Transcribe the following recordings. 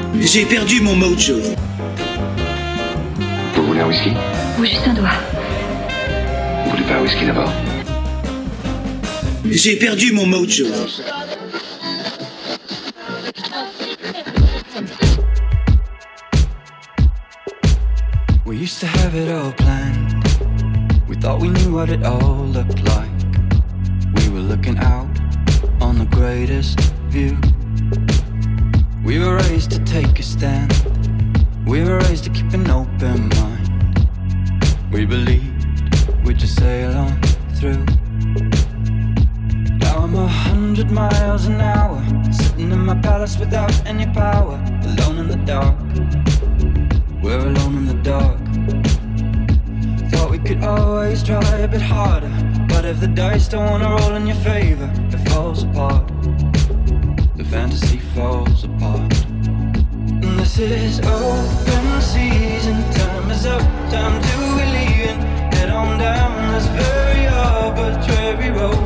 J'ai perdu mon mojo. Vous voulez un whisky? Ou juste un doigt. Vous voulez pas un whisky d'abord? J'ai perdu mon mojo. We used to have it all planned. We thought we knew what it all looked like. We were looking out on the greatest view. We were raised to take a stand. We were raised to keep an open mind. We believed we'd just sail on through. Now I'm 100 miles an hour, sitting in my palace without any power, alone in the dark. We're alone in the dark. Thought we could always try a bit harder, but if the dice don't wanna roll in your favor, it falls apart. The fantasy falls apart. And this is open season, time is up, time to be leaving. Head on down this very arbitrary road.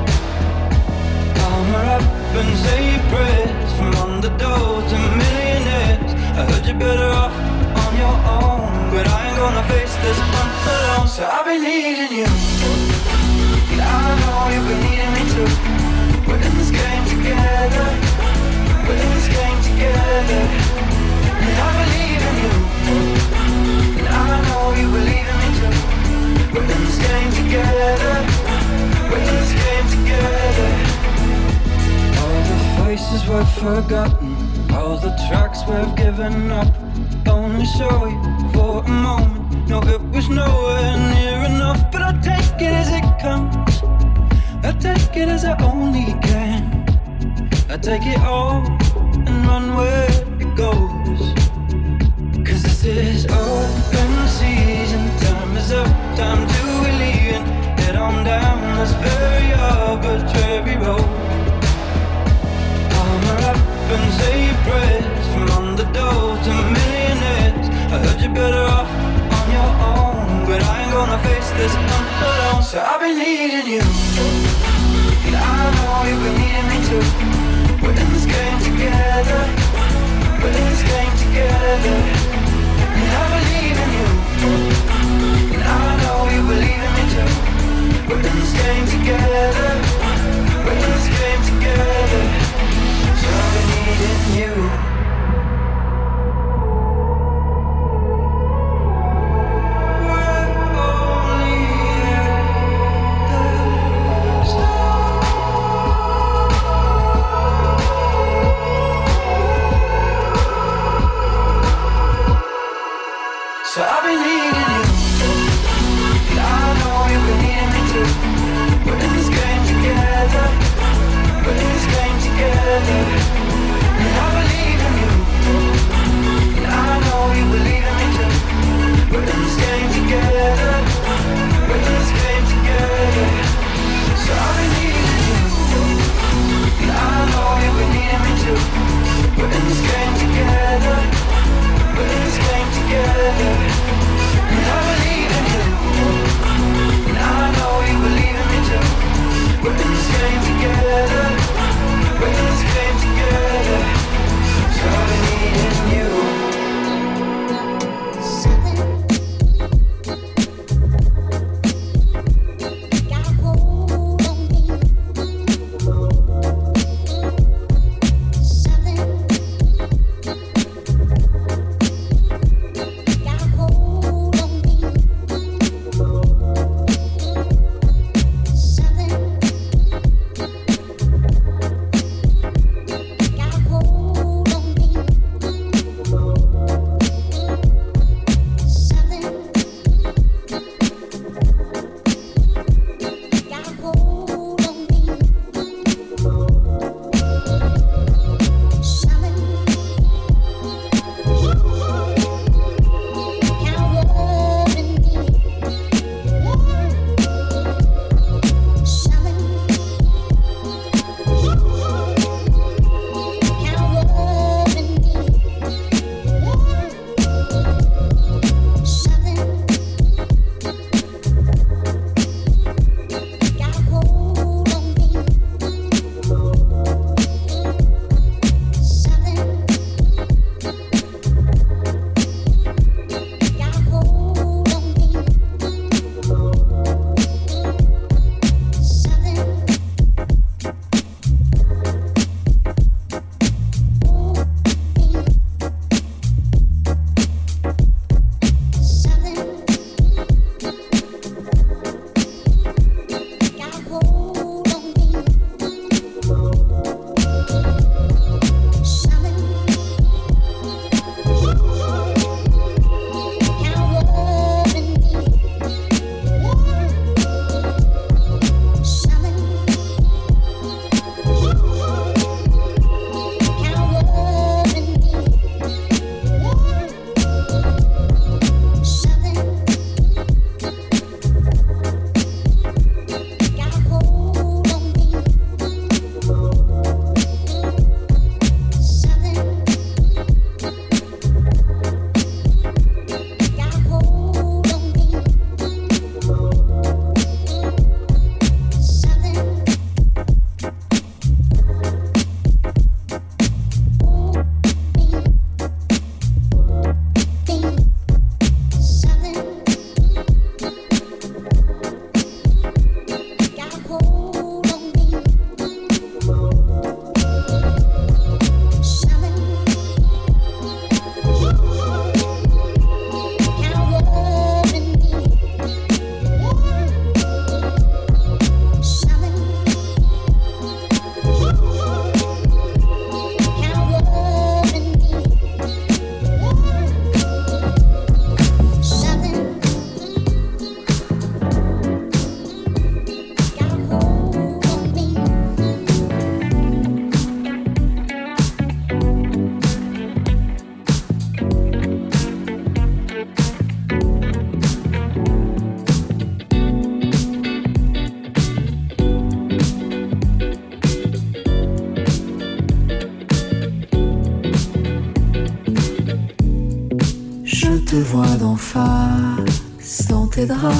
Armor up and say prayers, from underdogs to millionaires. I heard you're better off on your own, but I ain't gonna face this one alone. So I've been needing you, and I know you've been needing me too. We're in this game together, we're in this game together. And I believe in you, and I know you believe in me too. We're in this game together, we're in this game together. All the faces we've forgotten, all the tracks we've given up, only show you for a moment. No, it was nowhere near enough, but I'll take it as it comes. I'll take it as I only can. I'll take it all and run where it goes. Cause this is open season, time is up, time to be leaving. Head on down this very arbitrary road. Armor up and say prayers, from underdogs to millionaires. I heard you're better off on your own, but I ain't gonna face this alone. So I've been needing you, and I know you've been needing me too. We're in this game together, we're in this game together. And I believe in you, and I know you believe in me too. We're in this game together, we're in this game together. So I've been needing you. face dans tes draps,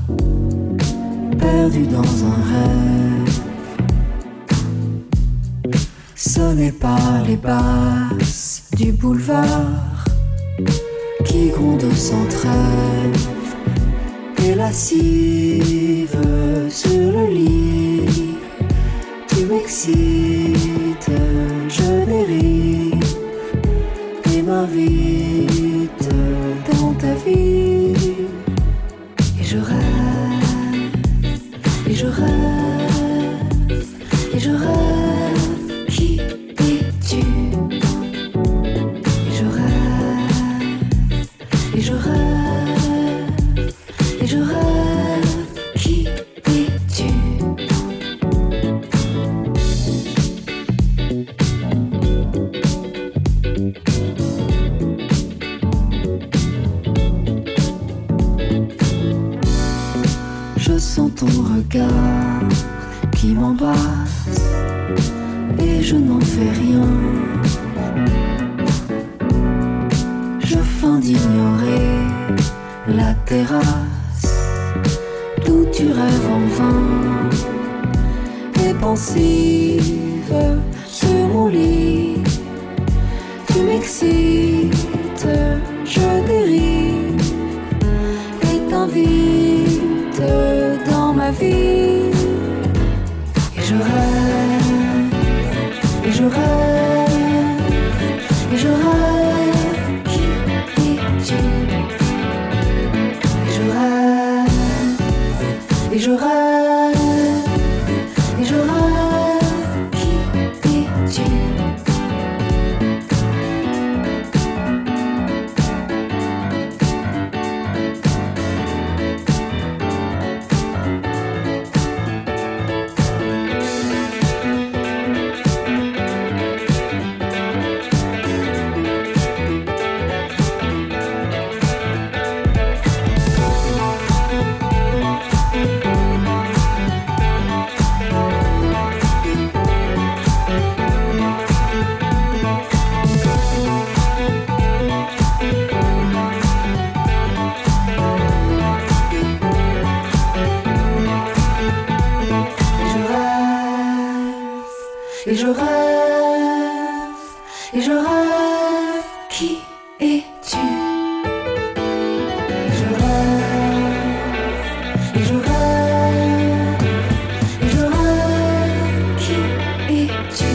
perdu dans un rêve. Sonné par les basses du boulevard qui grondent sans trêve, et lascive sur le lit. Tu m'excites, je dérive et m'invite dans ta vie. Et je rêve, et je rêve, et je rêve. Qui es-tu? Et je rêve, et je rêve, et je rêve. Qui es-tu? Je sens ton regard qui m'embrasse et je n'en fais rien. Je feins d'ignorer la terrasse d'où tu rêves en vain, et pensive sur mon lit. Tu m'excites, je dérive et t'invite dans ma vie. Et je rêve, et je rêve, et je rêve. Qui es-tu? Et je rêve, et je rêve, et je rêve. Qui es-tu? Et je rêve, et je rêve. Qui es-tu? Et je rêve, et je rêve, et je rêve. Qui es-tu?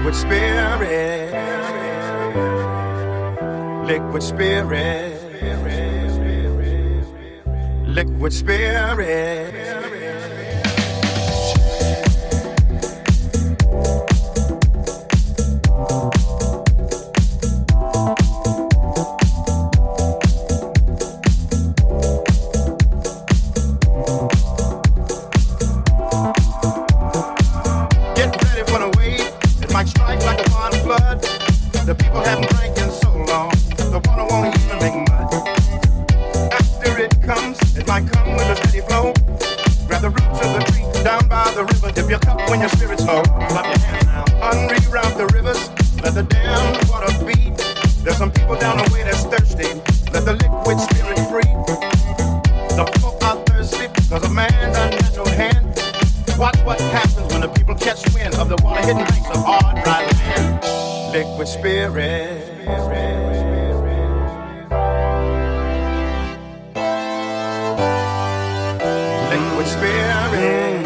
liquid spirit, liquid spirit, liquid spirit. The people haven't drank in so long, the water won't even make mud. After it comes, it might come with a steady flow. Grab the roots of the tree down by the river. Dip your cup when your spirit's low. Clap your hands now. Unreroute the rivers, let the damn water beat. There's some people down the way that's thirsty. Let the liquid spirit free. The folk are thirsty because of man's unnatural hand. Watch what happens when the people catch wind of the water-hidden banks of hard, dry land. Liquid spirit. Liquid spirit.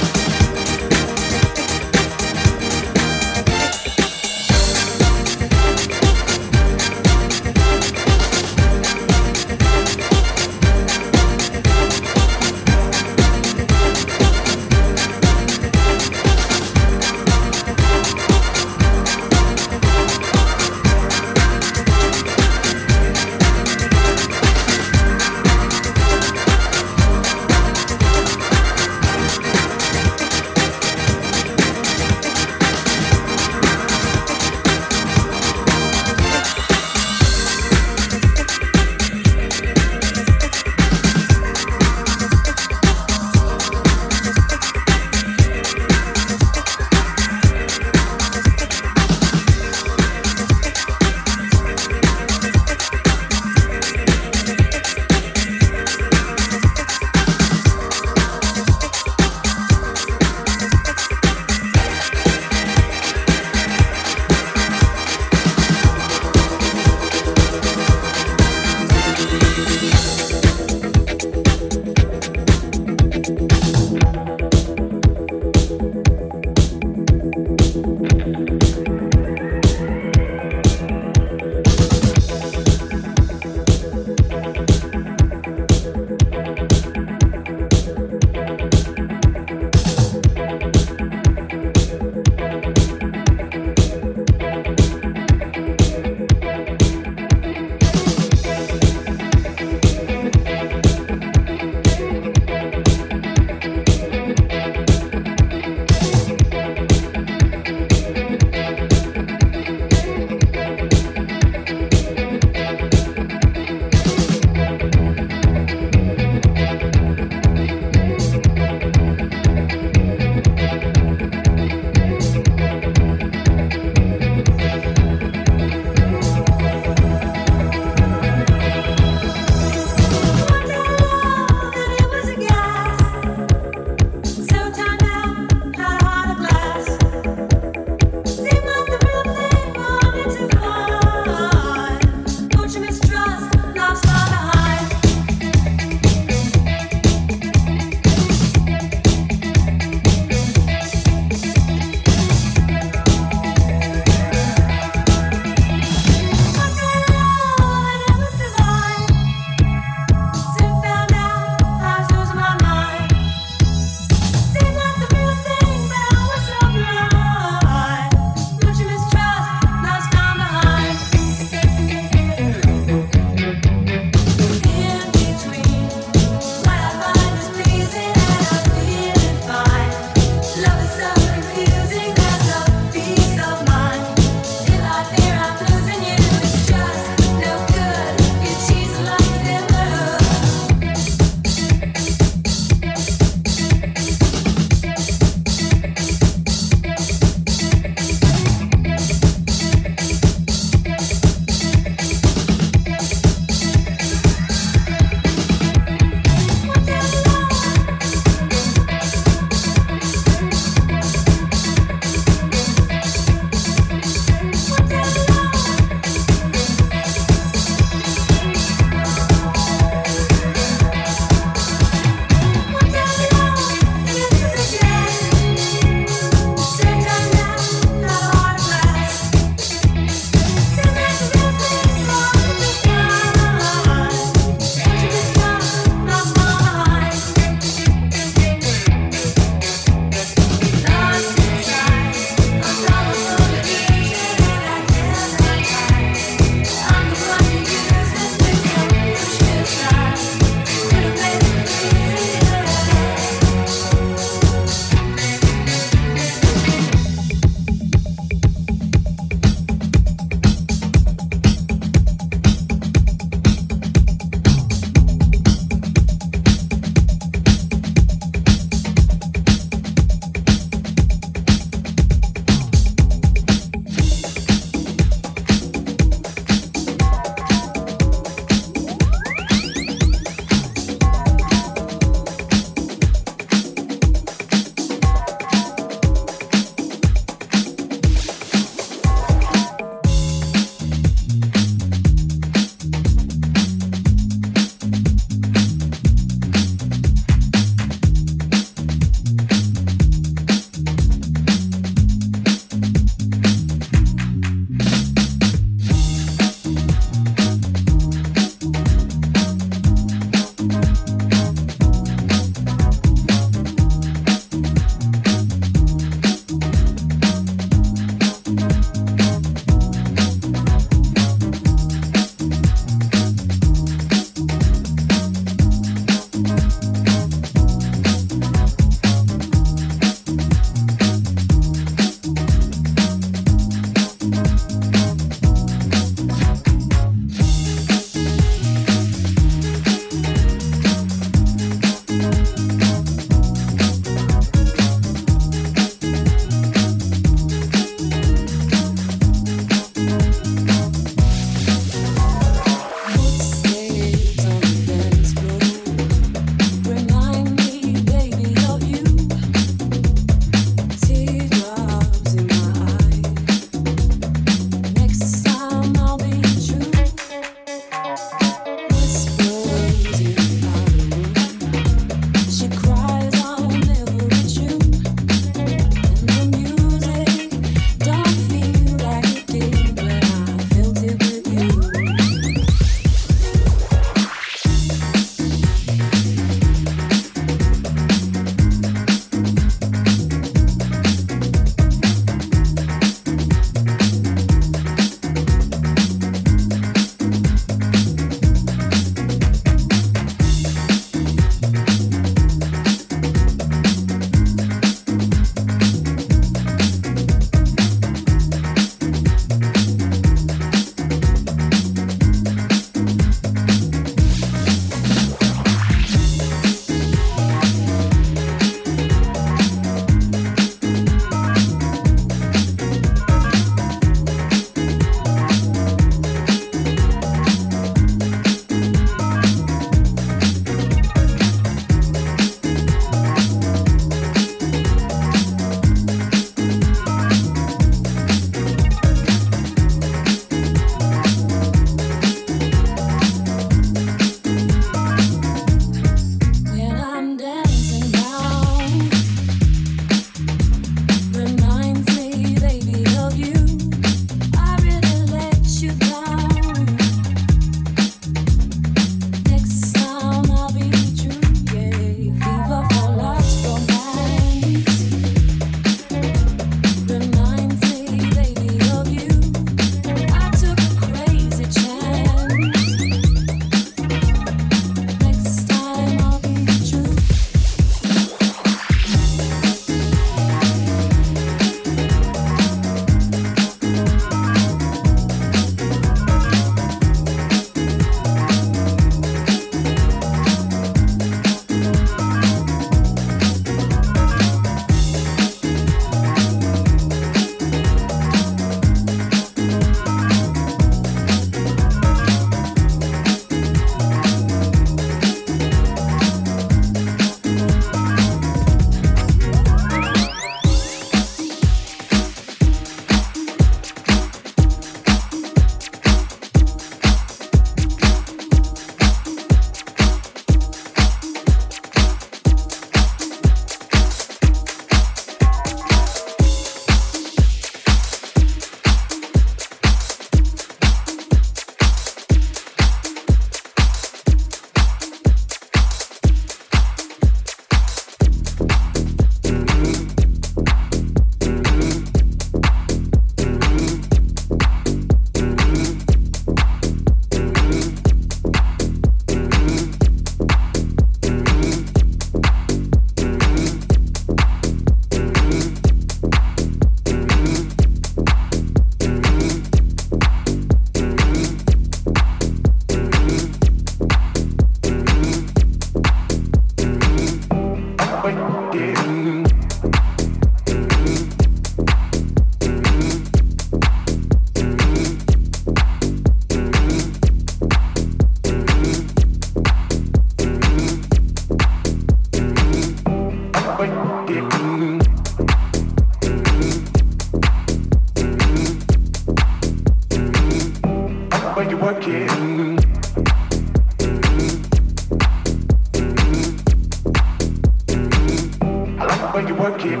work it.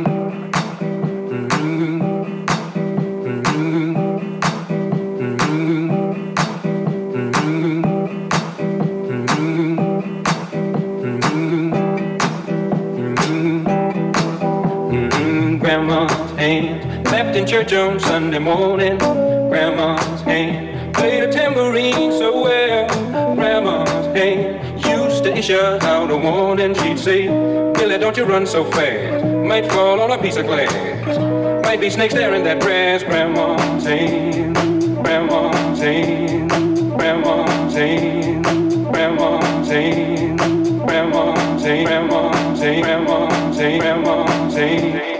Grandma's hand left in church on Sunday morning. Grandma's hand played a tambourine so well. Grandma's hand used to issue out a warning. She'd say, Billy, don't you run so fast. Might fall on a piece of glass. Might be snakes there in that grass. Grandma's hand, Grandma's hand, Grandma's hand, Grandma's hand, Grandma's hand, Grandma's hand, Grandma's hand, Grandma's hand.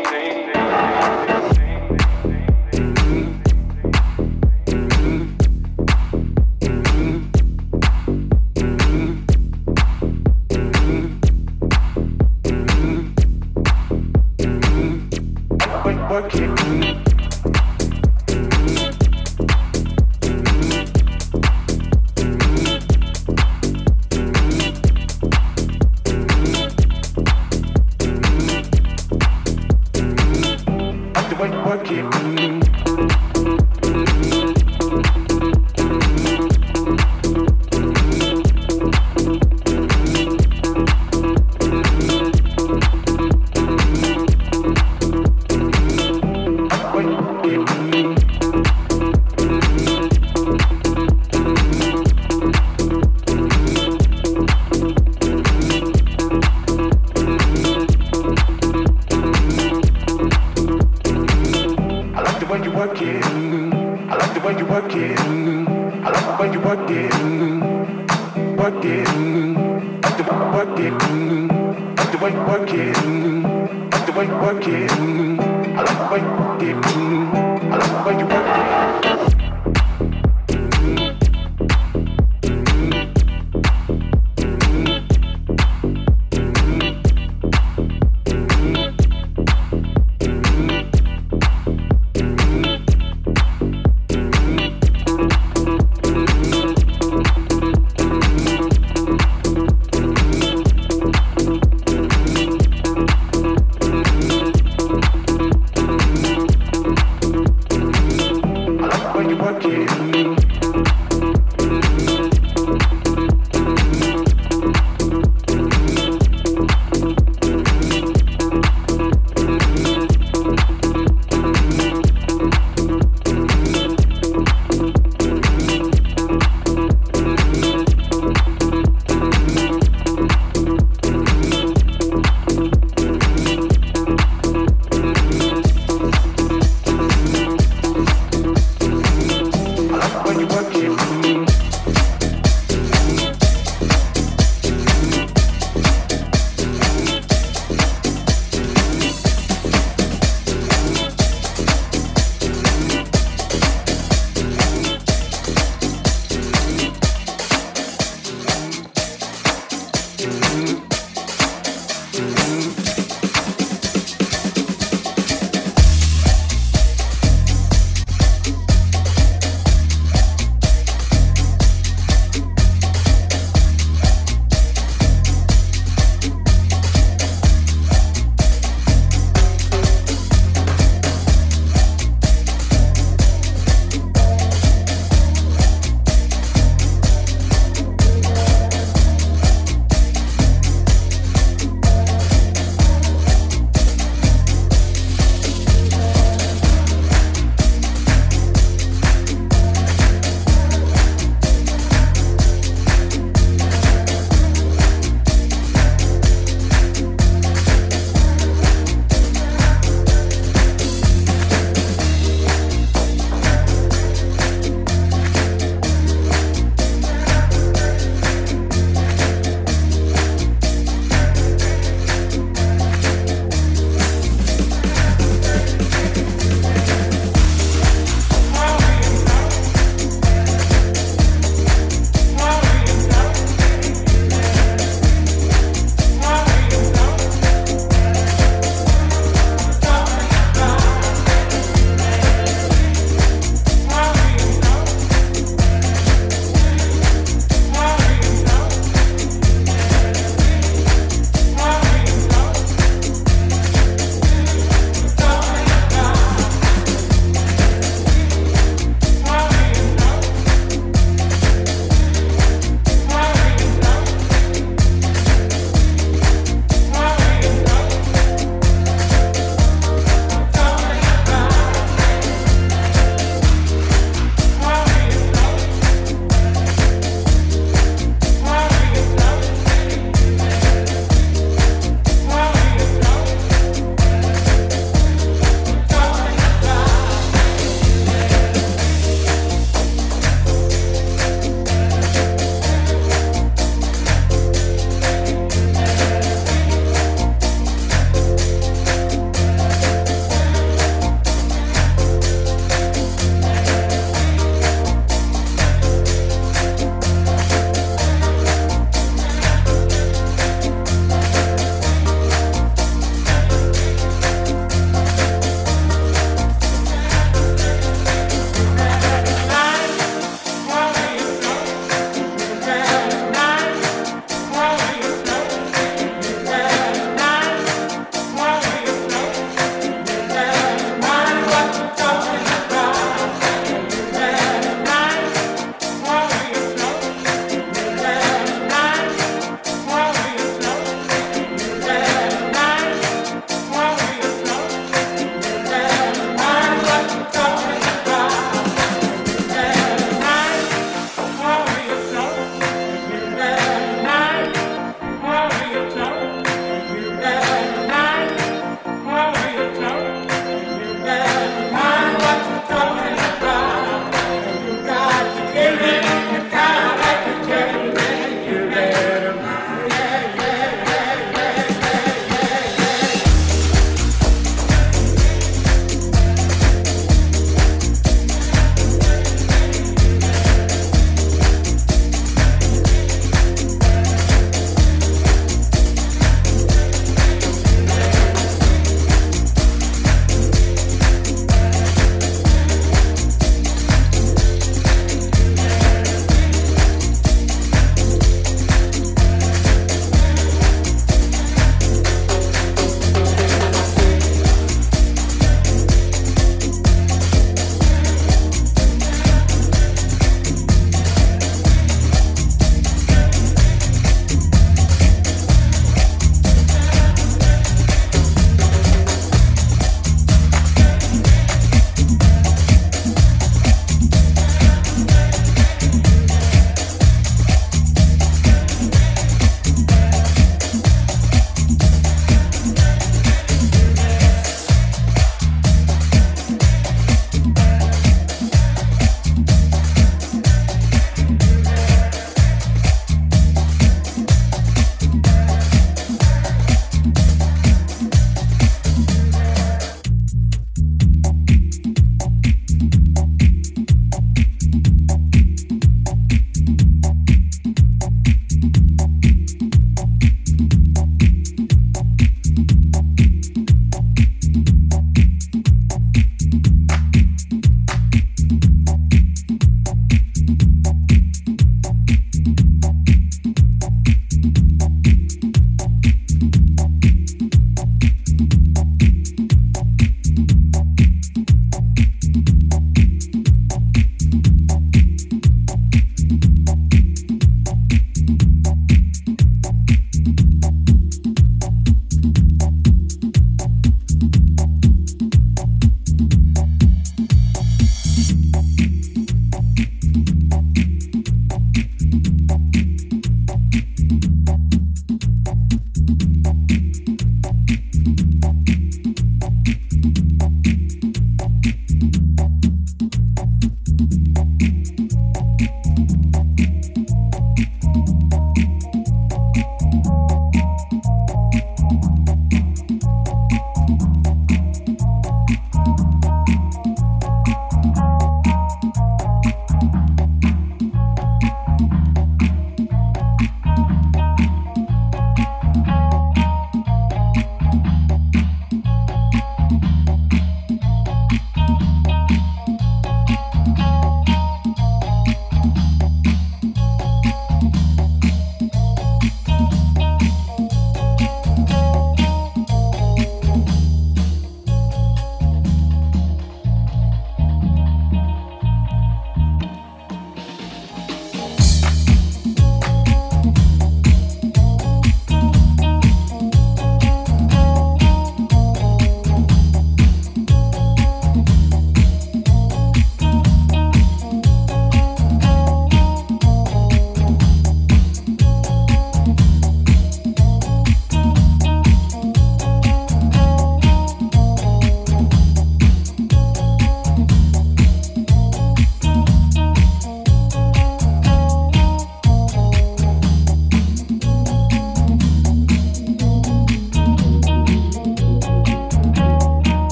Work it.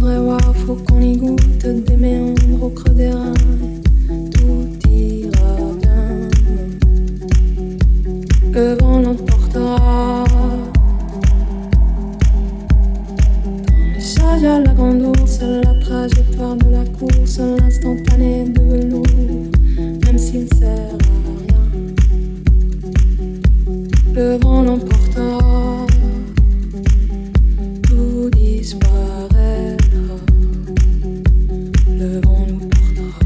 voudrais voir, faut qu'on y goûte des méandres au creux des reins. Tout ira bien. Le vent l'emportera. Dans le sage à la grande ours, la trajectoire de la course, l'instantané de velours, même s'il sert à rien. Le vent l'emportera. Tout disparaîtra. Le vent nous portera.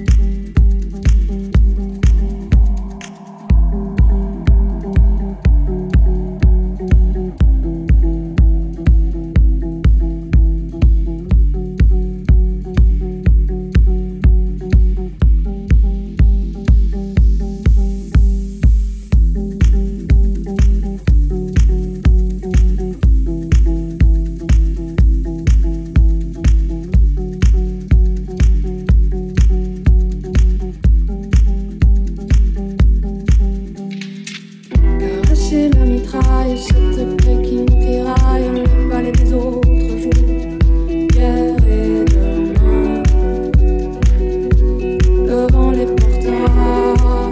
Caresser la mitraille, cette plaie qui nous tiraille, le balai des autres jours, hier et demain. Le vent les portera.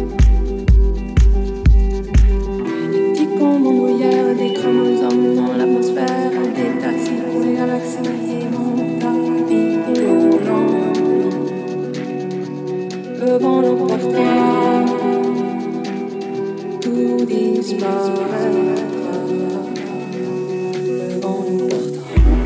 Des petits cons bandoulières, des chromosomes dans l'atmosphère, des taxis pour les galaxies, et mon tapis roulant. Le vent l'emportera. Tout disparaîtra. Le vent nous portera.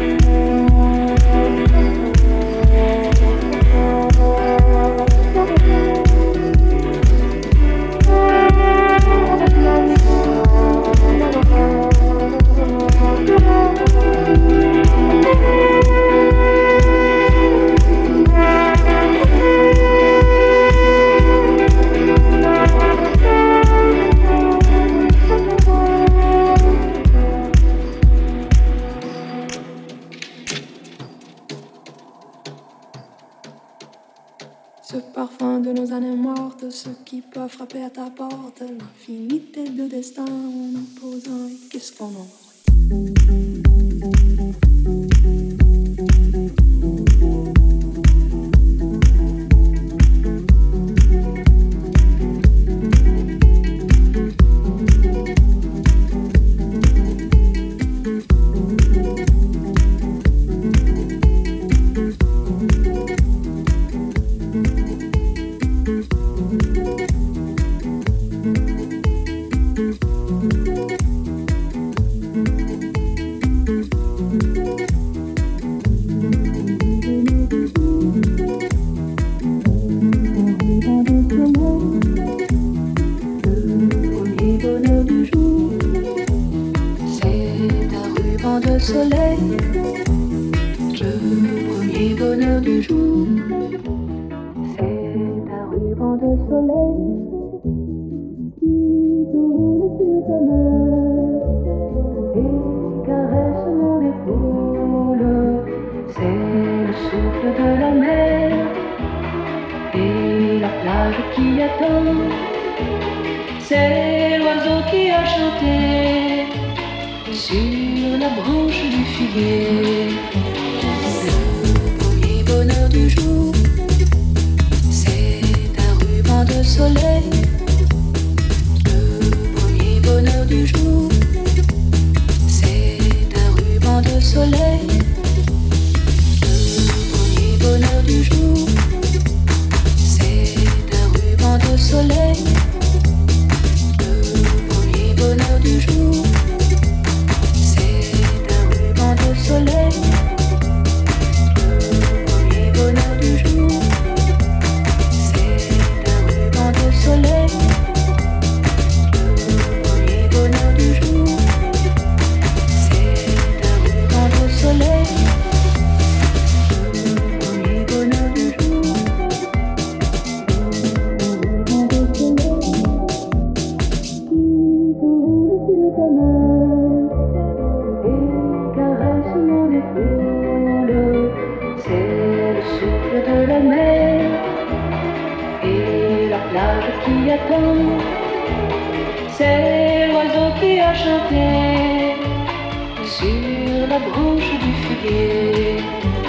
Ce parfum de nos années mortes, ce qui peut frapper à ta porte, l'infinité de destin en nous posant, et qu'est-ce qu'on en de soleil, le premier bonheur du jour. C'est un ruban de soleil qui s'envole sur ta main et caresse mon épaule. C'est le souffle de la mer et la plage qui attend. C'est l'oiseau qui a chanté sur la branche du figuier. Le premier bonheur du jour, c'est un ruban de soleil. Le premier bonheur du jour, c'est un ruban de soleil. Le premier bonheur du jour, c'est un ruban de soleil. Le premier bonheur du jour, de soleil, le premier bonheur du jour, c'est un ruban de soleil, le premier bonheur du jour, c'est un ruban de soleil, le premier bonheur du jour, un ruban de soleil qui s'envole sur ta main et caresse mon épaule. C'est le souffle de la mer et la plage qui attend. C'est l'oiseau qui a chanté sur la branche du figuier.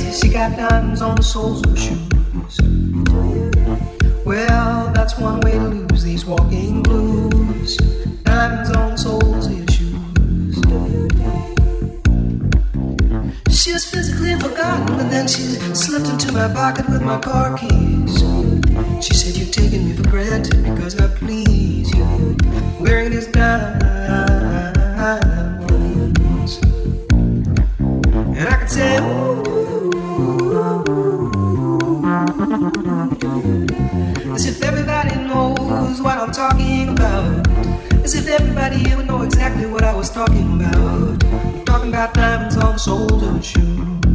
she got diamonds on the soles of her shoes. Well, that's one way to lose these walking blues. Diamonds on the soles of your shoes. She was physically forgotten, but then she slipped into my pocket with my car keys. She said, "You've taken me for granted because I please you, wearing these diamonds." And I could say, ooh, as if everybody knows what I'm talking about. As if everybody here would know exactly what I was talking about. I'm talking about diamonds on the soles of the shoes.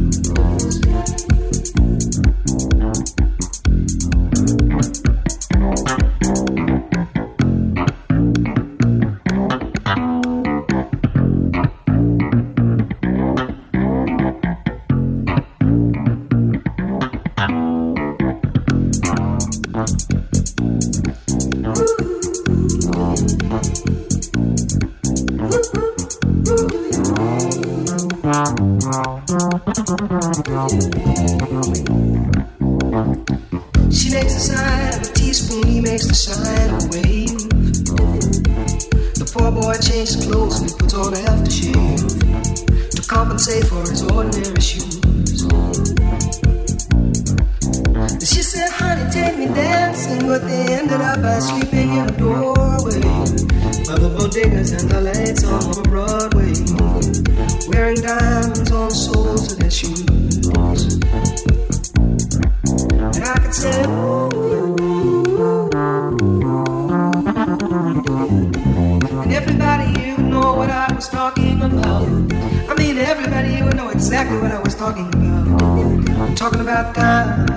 She makes the sign of a teaspoon, he makes the sign of a wave. The poor boy changes clothes and he puts on aftershave to compensate for his ordinary shoes. She said, "Honey, take me dancing," but they ended up by sleeping in a doorway by the bodegas and the lights on Broadway, wearing diamonds on the soles of their shoes. And I could say, and everybody here would know what I was talking about. I mean, everybody here would know exactly what I was talking about. I'm talking about diamonds.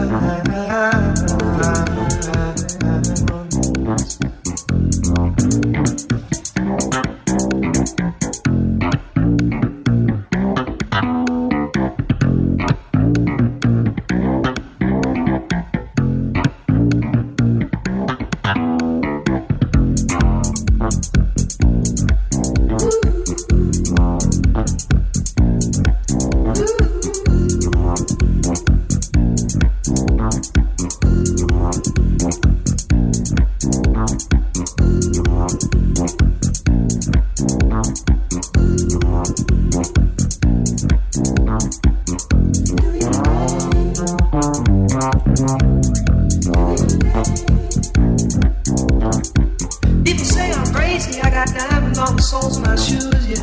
People say I'm crazy, I got diamonds on the soles of my shoes, yeah.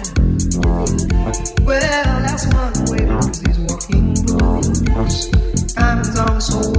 Well, that's one way to lose these walking blues. Diamonds on the soles